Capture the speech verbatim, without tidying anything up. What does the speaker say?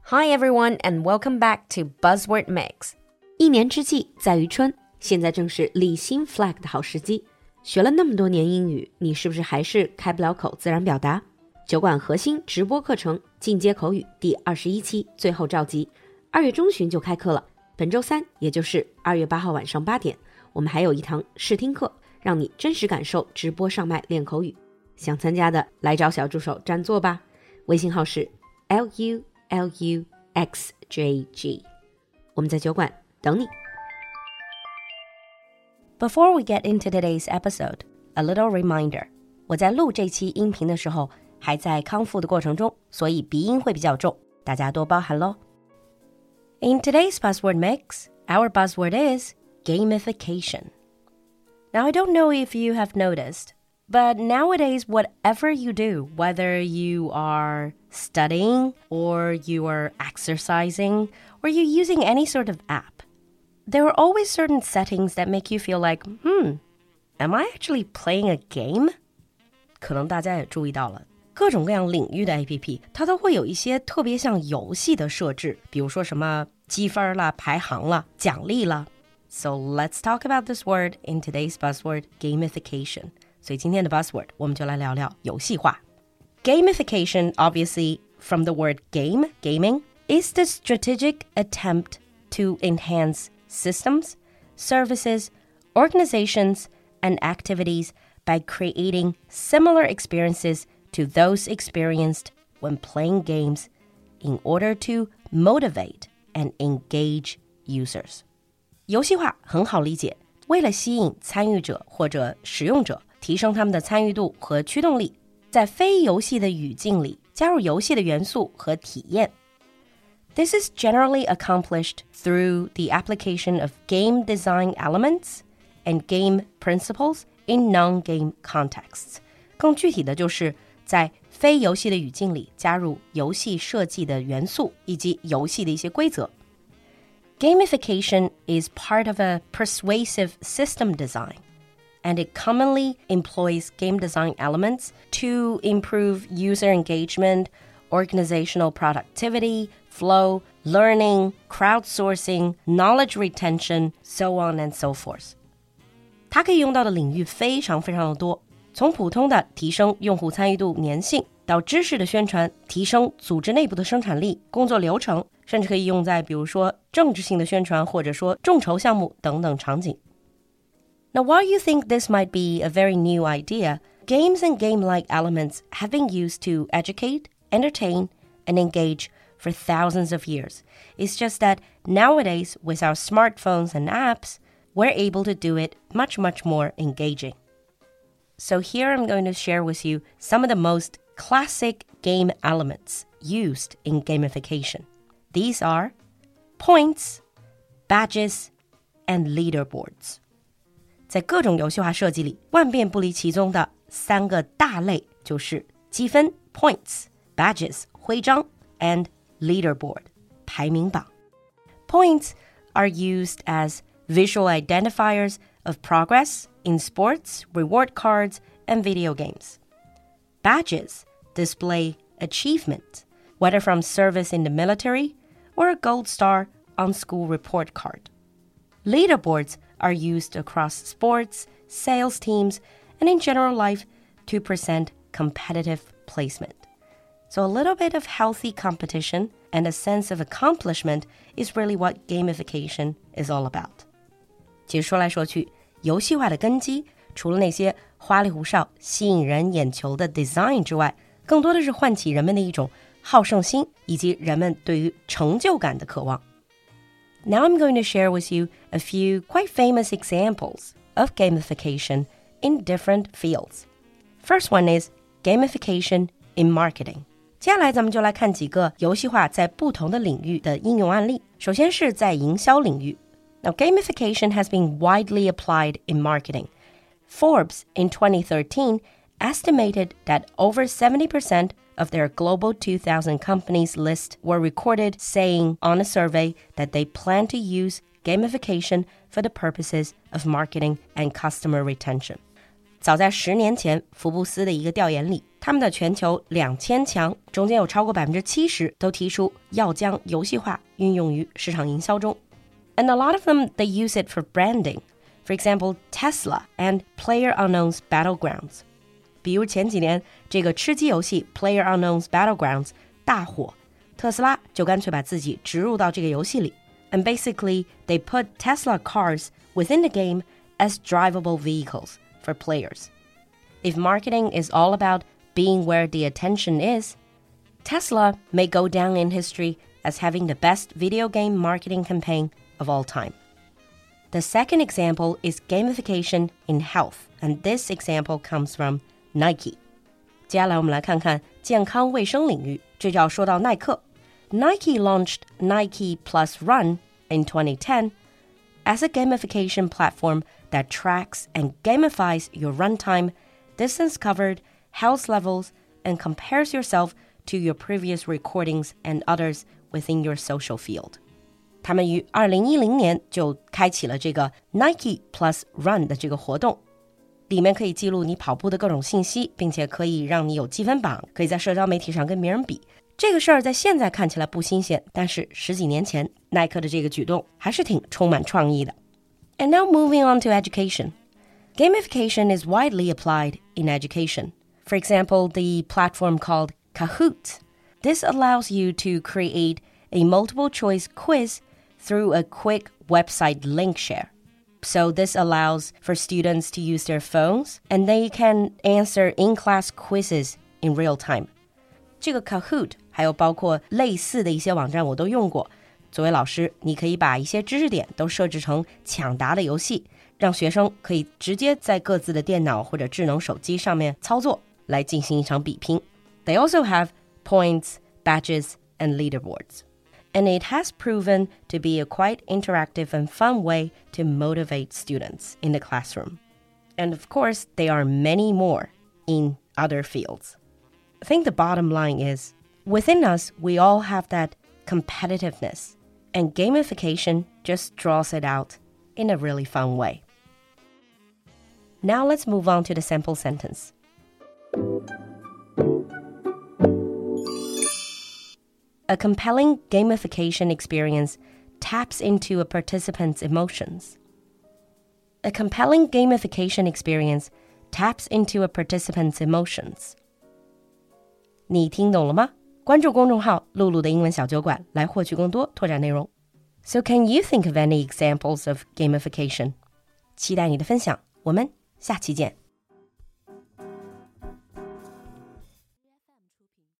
Hi everyone and welcome back to Buzzword Mix. 一年之计在于春，现在正是立新 flag 的好时机。学了那么多年英语，你是不是还是开不了口自然表达？酒馆核心直播课程进阶口语第二十一期最后召集，二月中旬就开课了。本周三，也就是二月八号晚上八点，我们还有一堂试听课，让你真实感受直播上麦练口语。想参加的来找小助手占座吧，微信号是 L U L U X J G， 我们在酒馆等你。 Before we get into today's episode, a little reminder. 我在录这期音频的时候还在康复的过程中，所以鼻音会比较重，大家多包涵咯。In today's buzzword mix, our buzzword is gamification. Now, I don't know if you have noticed, but nowadays, whatever you do, whether you are studying or you are exercising or you're using any sort of app,There are always certain settings that make you feel like, hmm, am I actually playing a game? 可能大家也注意到了，各种各样领域的 A P P 它都会有一些特别像游戏的设置，比如说什么积分啦、排行啦、奖励啦。So let's talk about this word in today's buzzword, gamification. 所以今天的 buzzword 我们就来聊聊游戏化。Gamification, obviously from the word game, gaming, is the strategic attempt to enhance systems, services, organizations, and activities by creating similar experiences to those experienced when playing games in order to motivate and engage users. 游戏化很好理解，为了吸引参与者或者使用者，提升他们的参与度和驱动力，在非游戏的语境里加入游戏的元素和体验。This is generally accomplished through the application of game design elements and game principles in non-game contexts. 更具体的就是在非游戏的语境里加入游戏设计的元素以及游戏的一些规则。Gamification is part of a persuasive system design, and it commonly employs game design elements to improve user engagement, organizational productivity, flow, learning, crowdsourcing, knowledge retention, so on and so forth. 它可以用到的领域非常非常的多，从普通的提升用户参与度粘性，到知识的宣传，提升组织内部的生产力、工作流程，甚至可以用在比如说政治性的宣传，或者说众筹项目等等场景。Now, while you think this might be a very new idea, games and game-like elements have been used to educate, entertain, and engage for thousands of years. It's just that nowadays, with our smartphones and apps, we're able to do it much, much more engaging. So here I'm going to share with you some of the most classic game elements used in gamification. These are points, badges, and leaderboards. 在各种游戏化设计里，万变不离其宗的三个大类就是积分 points, badges 徽章 and leaderboard 排名榜。 Points are used as visual identifiers of progress in sports, reward cards, and video games. Badges display achievement, whether from service in the military or a gold star on school report card. Leaderboards are used across sports, sales teams, and in general life to present competitive placement. So a little bit of healthy competition and a sense of accomplishment is really what gamification is all about. 其实说来说去，游戏化的根基，除了那些花里胡哨、吸引人眼球的 design 之外，更多的是唤起人们的一种好胜心，以及人们对于成就感的渴望。Now I'm going to share with you a few quite famous examples of gamification in different fields. First one is gamification in marketing. 接下来咱们就来看几个游戏化在不同的领域的应用案例。首先是在营销领域。Now, gamification has been widely applied in marketing. Forbes in twenty thirteen estimated that over seventy percent of their global two thousand companies list were recorded saying on a survey that they plan to use gamification for the purposes of marketing and customer retention. 早在十年前，福布斯的一个调研里， 他们的全球两千强中间有超过 百分之七十 都提出要将游戏化运用于市场营销中。And a lot of them, they use it for branding. For example, Tesla and PlayerUnknown's Battlegrounds. 比如前几年这个吃鸡游戏 PlayerUnknown's Battlegrounds 大火，特斯拉就干脆把自己植入到这个游戏里。And basically, they put Tesla cars within the game as drivable vehicles for players. If marketing is all about being where the attention is, Tesla may go down in history as having the best video game marketing campaign of all time. The second example is gamification in health, and this example comes from Nike. 接下来我们来看看健康卫生领域，这就要说到耐克。Nike launched Nike Plus Run in twenty ten as a gamification platform that tracks and gamifies your run time, distance covered, health levels, and compares yourself to your previous recordings and others within your social field. 他们于二零一零年就开启了这个 Nike Plus Run 的这个活动，里面可以记录你跑步的各种信息，并且可以让你有积分榜，可以在社交媒体上跟别人比。这个事儿在现在看起来不新鲜，但是十几年前耐克的这个举动还是挺充满创意的。And now moving on to education. Gamification is widely applied in education. For example, the platform called Kahoot. This allows you to create a multiple choice quiz through a quick website link share. So this allows for students to use their phones and they can answer in-class quizzes in real time. 这个 Kahoot 还有包括类似的一些网站我都用过。作为老师，你可以把一些知识点都设置成抢答的游戏，让学生可以直接在各自的电脑或者智能手机上面操作，来进行一场比拼。They also have points, badges, and leaderboards. And it has proven to be a quite interactive and fun way to motivate students in the classroom. And of course, there are many more in other fields. I think the bottom line is, within us, we all have that competitiveness, and gamification just draws it out in a really fun way. Now let's move on to the sample sentence. A compelling gamification experience taps into a participant's emotions. A compelling gamification experience taps into a participant's emotions. 你听懂了吗？关注公众号露露的英文小酒馆来获取更多拓展内容。So can you think of any examples of gamification? 期待你的分享，我们下期见。